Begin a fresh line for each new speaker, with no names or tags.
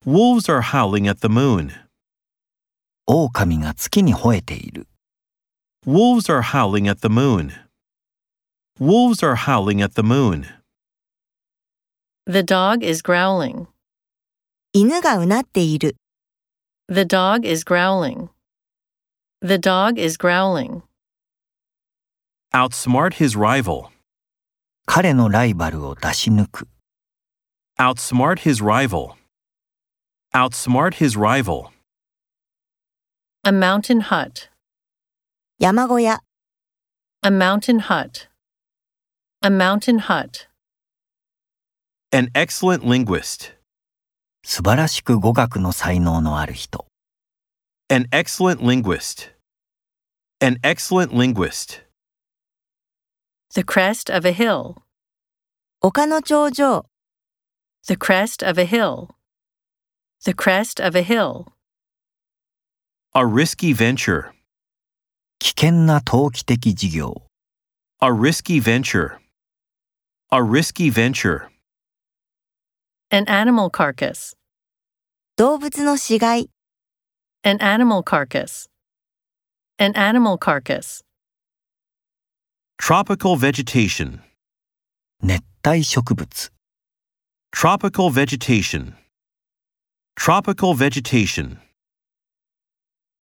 Wolves are howling at the moon.
狼が月に吠えている。
Wolves are howling at the moon. Wolves are howling at the moon.
The dog is growling.
犬がうなっている。
The dog is growling. The dog is growling.
Outsmart his rival.
彼のライバルを出し抜く。
Outsmart his rival. Outsmart his rival.
A mountain hut.
山小屋。
A mountain hut. A mountain hut.
An excellent linguist.
素晴らしく語学の才能のある人。
An excellent linguist. An excellent linguist.
The crest of a hill.
丘の頂上。
The crest of a hill. The crest of a hill.
A risky venture.
危険な投機的事業。
A risky venture. A risky venture.
An animal carcass.
動物の死骸。
An animal carcass. An animal carcass.
Tropical vegetation.
熱帯植物。
Tropical vegetation. Tropical vegetation.